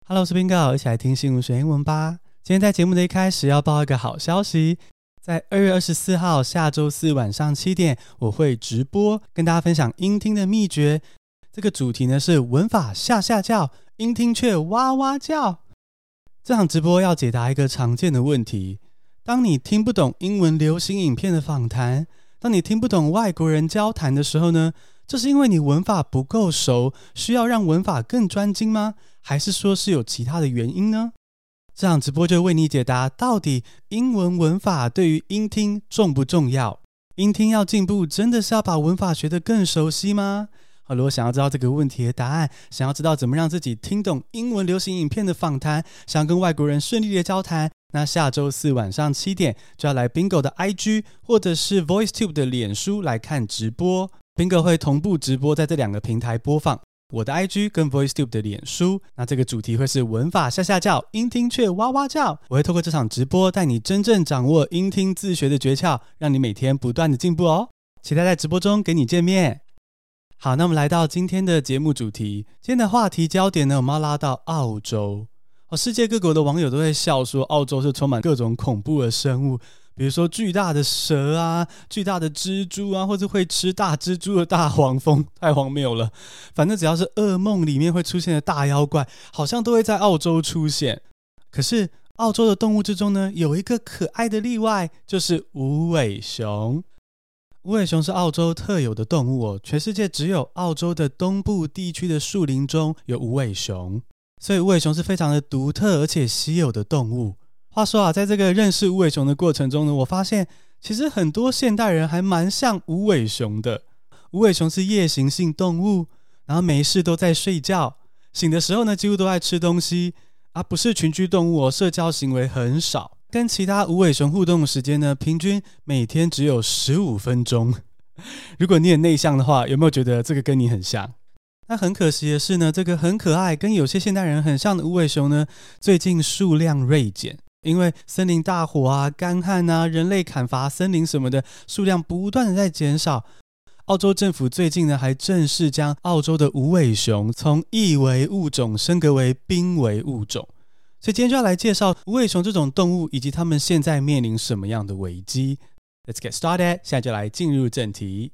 Hello， 我是 Bingo， 一起來聽新聞學英文吧。今天在節目的一開始要報一個好消息，在2月24號下周四晚上7點，我會直播跟大家分享英聽的祕訣。這個主題呢是文法嚇嚇叫，英聽卻哇哇叫。這場直播要解答一個常見的問題：當你聽不懂英文流行影片的訪談，當你聽不懂外國人交談的時候呢，這是因為你文法不夠熟，需要讓文法更專精嗎？還是說是有其他的原因呢？這場直播就為你解答，到底英文文法對於英聽重不重要？英聽要進步，真的是要把文法學得更熟悉嗎？好，如果想要知道這個問題的答案，想要知道怎麼讓自己聽懂英文流行影片的訪談，想要跟外國人順利的交談，那下周四晚上7點就要來 Bingo 的 IG 或者是 VoiceTube 的臉書來看直播。Bingo 會同步直播在這兩個平台播放，我的 IG 跟 VoiceTube 的臉書。那這個主題會是文法嚇嚇叫，英聽卻哇哇叫。我會透過這場直播帶你真正掌握英聽自學的訣竅，讓你每天不斷的進步哦。期待在直播中跟你見面。好，那我們來到今天的節目主題。今天的話題焦點呢，我們要拉到澳洲。世界各國的網友都在笑說，澳洲是充滿各種恐怖的生物，比如說巨大的蛇啊，巨大的蜘蛛啊，或者會吃大蜘蛛的大黃蜂，太荒謬了。反正只要是噩夢裡面會出現的大妖怪，好像都會在澳洲出現。可是澳洲的動物之中呢，有一個可愛的例外，就是無尾熊。無尾熊是澳洲特有的動物哦，全世界只有澳洲的東部地區的樹林中有無尾熊，所以無尾熊是非常的獨特而且稀有的動物。話說啊，在這個認識無尾熊的過程中呢，我發現其實很多現代人還蠻像無尾熊的。無尾熊是夜行性動物，然後沒事都在睡覺，醒的時候呢幾乎都在吃東西，不是群居動物哦，社交行為很少。跟其他無尾熊互動的時間呢，平均每天只有15分鐘。如果你很內向的話，有沒有覺得這個跟你很像？那很可惜的是呢，這個很可愛跟有些現代人很像的無尾熊呢，最近數量銳減，因為森林大火啊、乾旱啊、人類砍伐森林什麼的，數量不斷的在減少。澳洲政府最近呢，還正式將澳洲的無尾熊從易危物種升格為瀕危物種。所以今天就要來介紹無尾熊這種動物，以及他們現在面臨什麼樣的危機。Let's get started， 現在就來進入正題。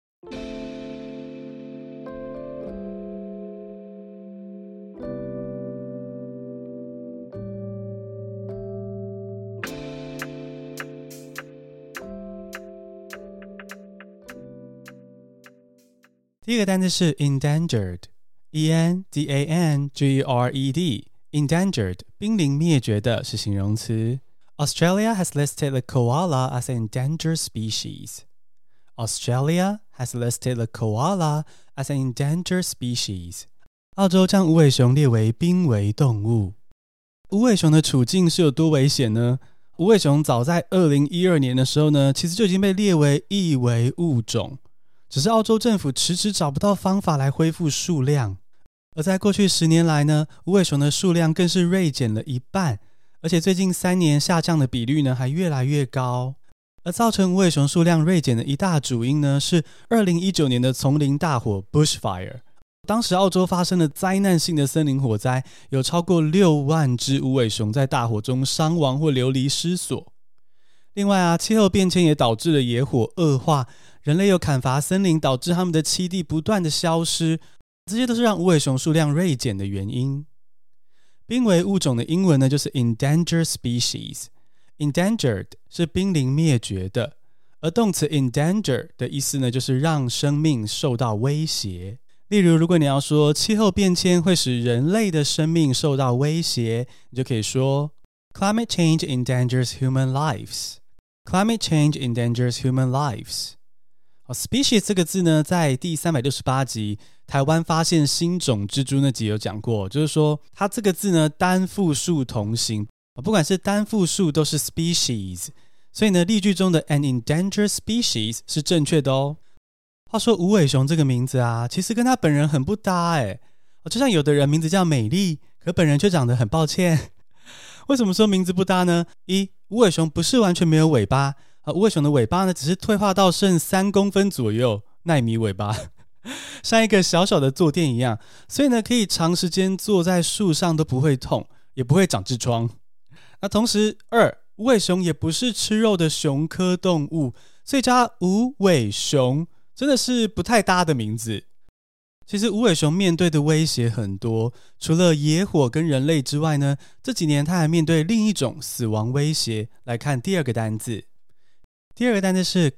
第一個單字是 endangered， E-N-D-A-N-G-E-R-E-D。Endangered， 瀕臨滅絕的是形容詞。Australia has listed the koala as an endangered species. Australia has listed the koala as an endangered species. 澳洲將無尾熊列為瀕危動物。無尾熊的處境是有多危險呢？無尾熊早在2012年的時候呢，其實就已經被列為易危物種，只是澳洲政府遲遲找不到方法來恢復數量。而在過去10年來呢，無尾熊的數量更是銳減了一半，而且最近3年下降的比率呢還越來越高。而造成無尾熊數量銳減的一大主因呢，是2019年的叢林大火 Bushfire。當時澳洲發生了災難性的森林火災，有超過6萬隻無尾熊在大火中傷亡或流離失所。另外氣候變遷也導致了野火惡化，人類又砍伐森林，導致它們的棲地不斷的消失。這些都是讓無尾熊數量銳減的原因。瀕危物種的英文呢，就是 endangered species。Endangered 是瀕臨滅絕的，而動詞 endanger 的意思呢，就是讓生命受到威脅。例如，如果你要說氣候變遷會使人類的生命受到威脅，你就可以說 Climate change endangers human lives. Climate change endangers human lives.Species 這個字呢，在第368集台灣發現新種蜘蛛那集有講過，就是說它這個字呢單複數同形，不管是單複數都是 species， 所以呢例句中的 an endangered species 是正確的哦。話說無尾熊這個名字啊，其實跟他本人很不搭耶，就像有的人名字叫美麗，可本人卻長得很抱歉。為什麼說名字不搭呢？一，無尾熊不是完全沒有尾巴，無尾熊的尾巴呢只是退化到剩3公分左右，奈米尾巴。 像一個小小的坐墊一樣，所以呢，可以長時間坐在樹上都不會痛，也不會長痔瘡。那同時，2，無尾熊也不是吃肉的熊科動物，所以叫它無尾熊真的是不太搭的名字。其實無尾熊面對的威脅很多，除了野火跟人類之外呢，這幾年它還面對另一種死亡威脅。來看第二個單字，第二個單字是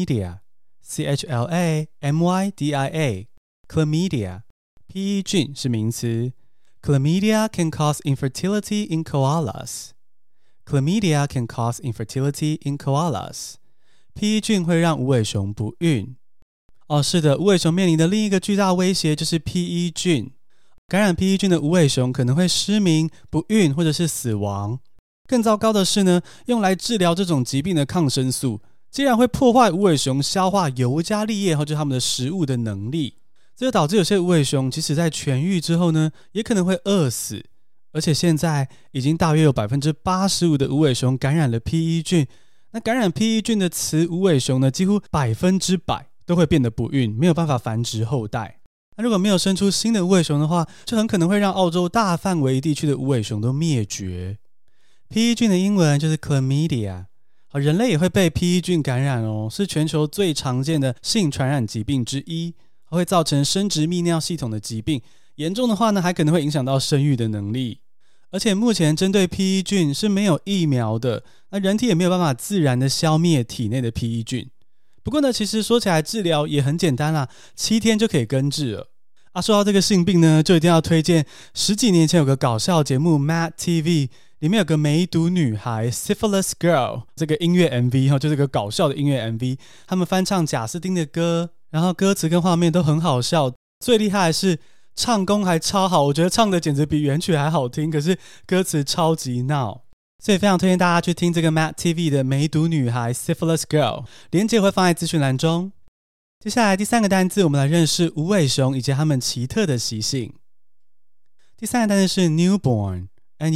chlamydia。chlamydia。Chlamydia。PE 菌是名詞。Chlamydia can cause infertility in koalas. Chlamydia can cause infertility in koalas. PE 菌會讓無尾熊不孕。是的，無尾熊面臨的另一個巨大威脅就是 PE 菌。感染 PE 菌的無尾熊可能會失明、不孕或者是死亡。更糟糕的是呢，用來治療這種疾病的抗生素，竟然會破壞無尾熊消化尤加利葉或者它們的食物的能力。這就導致有些無尾熊即使在痊癒之後呢，也可能會餓死。而且現在已經大約有 85% 的無尾熊感染了 PE 菌。那感染 PE 菌的雌無尾熊呢，幾乎100%都會變得不孕，沒有辦法繁殖後代。那如果沒有生出新的无尾熊的話，就很可能會讓澳洲大範圍地區的無尾熊都滅絕。PE 菌的英文就是 chlamydia。人類也會被 PE 菌感染哦，是全球最常見的性傳染疾病之一，會造成生殖泌尿系統的疾病，嚴重的話呢，還可能會影響到生育的能力。而且目前針對 PE 菌是沒有疫苗的，那人體也沒有辦法自然的消滅體內的 PE 菌。不過呢，其實說起來治療也很簡單啦，7天就可以根治了。說到這個性病呢，就一定要推薦10幾年前有個搞笑節目 Mad TV， 裡面有個梅毒女孩 Syphilis Girl， 這個音樂 MV 就是個搞笑的音樂 MV， 他們翻唱賈斯汀的歌，然後歌詞跟畫面都很好笑，最厲害的是唱功還超好，我覺得唱的簡直比原曲還好聽，可是歌詞超級鬧。所以非常推薦大家去聽這個 Mad TV 的梅毒女孩 Syphilis Girl， 連結會放在資訊欄中。接下來第3個單字，我們來認識無尾熊以及它們奇特的習性。第3個單字是 newborn，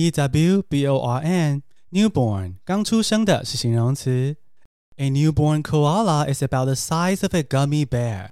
N-E-W-B-O-R-N， newborn， 剛出生的是形容詞。A newborn koala is about the size of a gummy bear.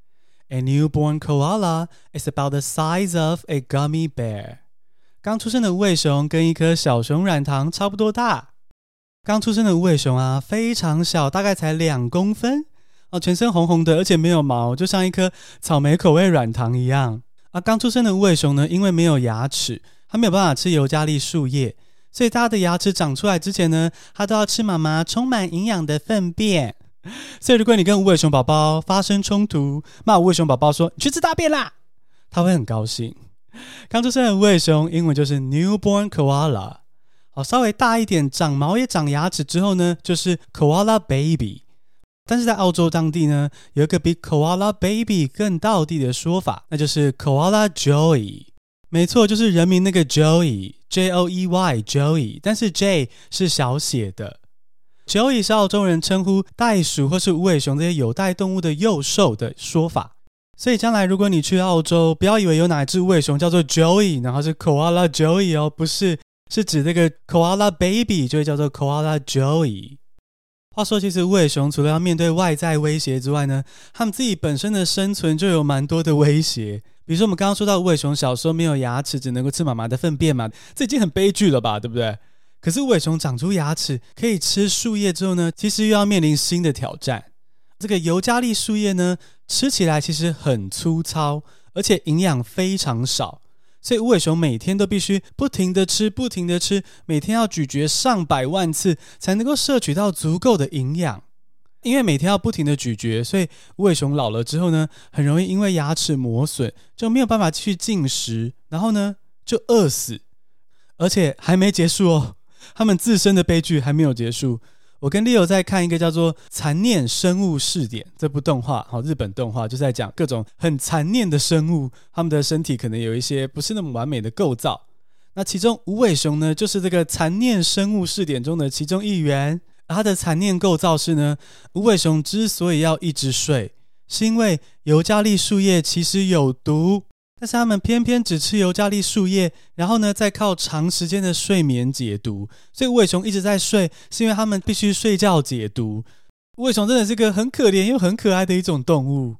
A newborn koala is about the size of a gummy bear. 剛出生的無尾熊跟一顆小熊軟糖差不多大。剛出生的無尾熊啊，非常小，大概才2公分。全身紅紅的，而且沒有毛，就像一顆草莓口味軟糖一樣。剛出生的無尾熊呢，因為沒有牙齒，它沒有辦法吃尤加利樹葉，所以它的牙齒長出來之前呢，它都要吃媽媽充滿營養的糞便。所以如果你跟無尾熊寶寶發生衝突，罵無尾熊寶寶說你去吃大便啦，它會很高興。剛出生的無尾熊英文就是 newborn koala。稍微大一點，長毛也長牙齒之後呢，就是 koala baby。但是在澳洲當地呢，有一個比 koala baby 更道地的說法，那就是 koala joey。沒錯，就是人名那個 Joey， J-O-E-Y Joey， 但是 J 是小寫的。Joey 是澳洲人稱呼袋鼠或是無尾熊這些有袋動物的幼獸的說法。所以將來如果你去澳洲，不要以為有哪一隻無尾熊叫做 Joey， 然後是 koala Joey 哦，不是，是指這個 koala baby 就會叫做 koala Joey。話說，其實無尾熊除了要面對外在威脅之外呢，他們自己本身的生存就有蠻多的威脅。比如說我們剛剛說到無尾熊小時候沒有牙齒，只能夠吃媽媽的糞便嘛，這已經很悲劇了吧，對不對？可是無尾熊長出牙齒可以吃樹葉之後呢，其實又要面臨新的挑戰。這個尤加利樹葉呢，吃起來其實很粗糙，而且營養非常少，所以無尾熊每天都必須不停的吃，不停的吃，每天要咀嚼上百萬次才能夠攝取到足夠的營養。因為每天要不停的咀嚼，所以無尾熊老了之後呢，很容易因為牙齒磨損，就沒有辦法繼續進食，然後呢就餓死。而且還沒結束哦，他們自身的悲劇還沒有結束。我跟 Leo 在看一個叫做《殘念生物試點》這部動畫，日本動畫，就在講各種很殘念的生物，他們的身體可能有一些不是那麼完美的構造。那其中無尾熊呢，就是這個殘念生物試點中的其中一員。它的殘念構造是呢，無尾熊之所以要一直睡，是因為尤加利樹葉其實有毒，但是他們偏偏只吃尤加利樹葉，然後呢再靠長時間的睡眠解毒。所以無尾熊一直在睡，是因為他們必須睡覺解毒。無尾熊真的是個很可憐又很可愛的一種動物。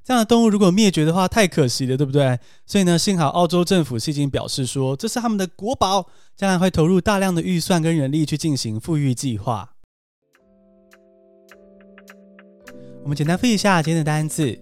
這樣的動物如果滅絕的話，太可惜了，對不對？所以呢，幸好澳洲政府是已經表示說，這是他們的國寶，將來會投入大量的預算跟人力去進行復育計劃。我們簡單複習一下今天的單字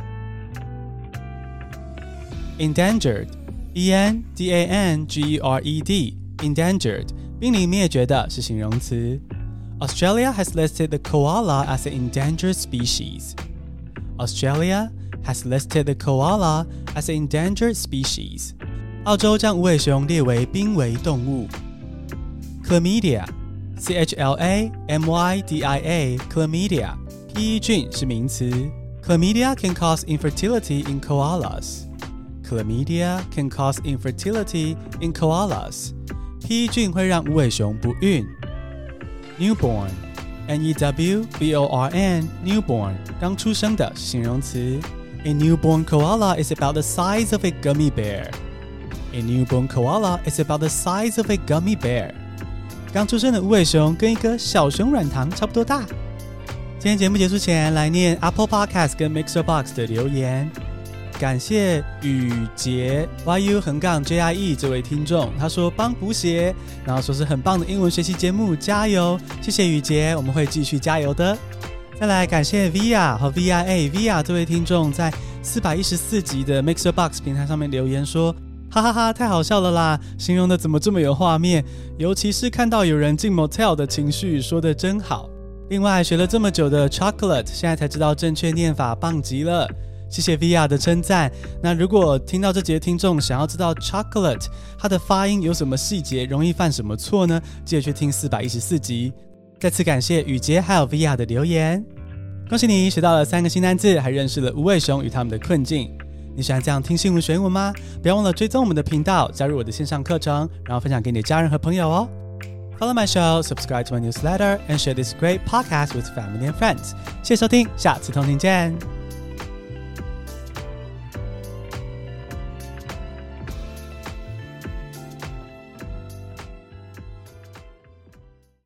：endangered， E-N-D-A-N-G-E-R-E-D， endangered， 瀕臨滅絕的是形容詞。Australia has listed the koala as an endangered species. Australia has listed the koala as an endangered species. 澳洲將无尾熊列為瀕危動物。Chlamydia， C-H-L-A-M-Y-D-I-A， Chlamydia， 披衣菌是名詞。Chlamydia can cause infertility in koalas. Chlamydia can cause infertility in koalas. 披衣菌會讓無尾熊不孕。Newborn， N-E-W-B-O-R-N， Newborn， 剛出生的是形容詞。A newborn koala is about the size of a gummy bear. A newborn koala is about the size of a gummy bear. 剛出生的無尾熊跟一個小熊軟糖差不多大。今天節目結束前，來念 Apple Podcast 跟 Mixer Box 的留言。感謝宇杰 YU_JIE 這位聽眾，他說幫補寫，然後說是很棒的英文學習節目，加油！謝謝宇杰，我們會繼續加油的。再來感謝 Via 和 VIA 這位聽眾在414集的 Mixer Box 平台上面留言說，哈哈哈，太好笑了啦，形容的怎麼這麼有畫面，尤其是看到有人進 motel 的情緒，說的真好。另外學了這麼久的 chocolate， 現在才知道正確念法，棒極了。謝謝 Via 的稱讚。那如果聽到這集的聽眾想要知道 chocolate 它的發音有什麼細節，容易犯什麼錯呢？記得去聽414集。再次感謝宇杰還有 Via 的留言。恭喜你學到了3個新單字，還認識了無尾熊與他們的困境。你喜歡這樣聽新聞學英文嗎？不要忘了追蹤我們的頻道，加入我的線上課程，然後分享給你的家人和朋友哦。Follow my show, subscribe to my newsletter, and share this great podcast with family and friends. 謝謝收聽，下次通勤見。